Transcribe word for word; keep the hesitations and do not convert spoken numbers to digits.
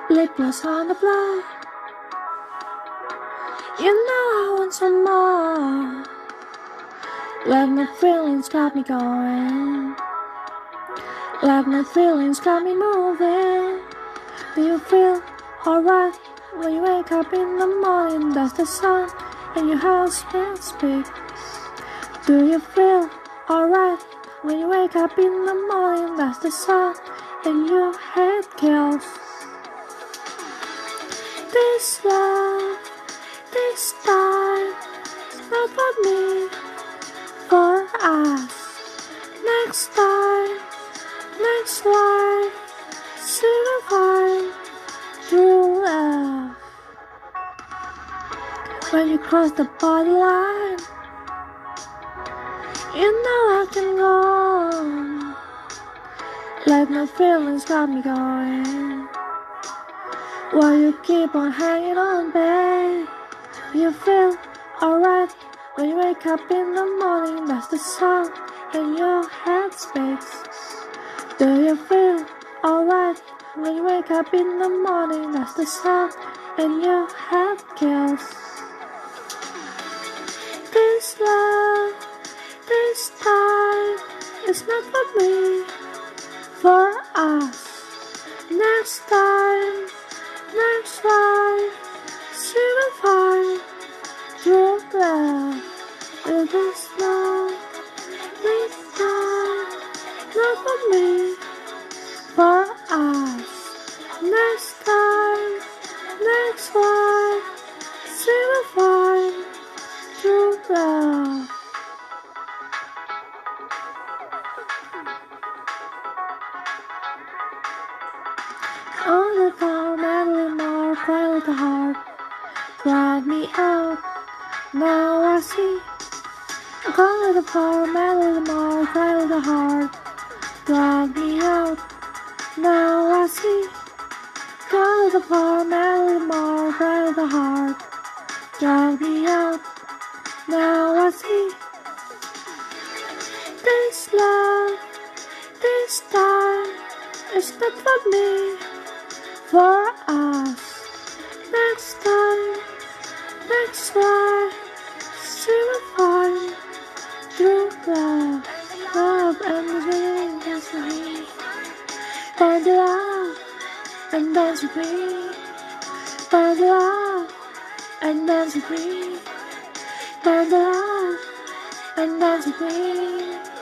lip gloss on the floor. You know I want some more. Let my feelings got me going. Let my feelings got me moving. Do you feel alright when you wake up in the morning? That's the sun and your house will speak. Do you feel alright when you wake up in the morning? That's the sun and your head kills. This love, this time, it's not for me, for us. Next time, next life, see we find true love. When you cross the borderline, you know I can go. Let my feelings got me going. While you keep on hanging on, babe. You feel alright when you wake up in the morning. That's the sun in your head speaks. Do you feel alright when you wake up in the morning? That's the sun in your head kills. This love, this time, is not for me, for us. Next time, next life, see we find true love. With this love, this time, not for me, for us. Next time, next life, see we find true love. On the car, Madeline Moore, cry with the heart, drag me out, now I see. Call the car, Madeline Moore, cry with the heart, drag me out, now I see. Call the car, Madeline Moore, cry with the heart, drag me out, now I see. This love, this time, is not for me, for us. Next time, next life, see we find true love. Love and living dance with me. Find the love and dance with me. Find the love and dance with me. Find the love and dance with me.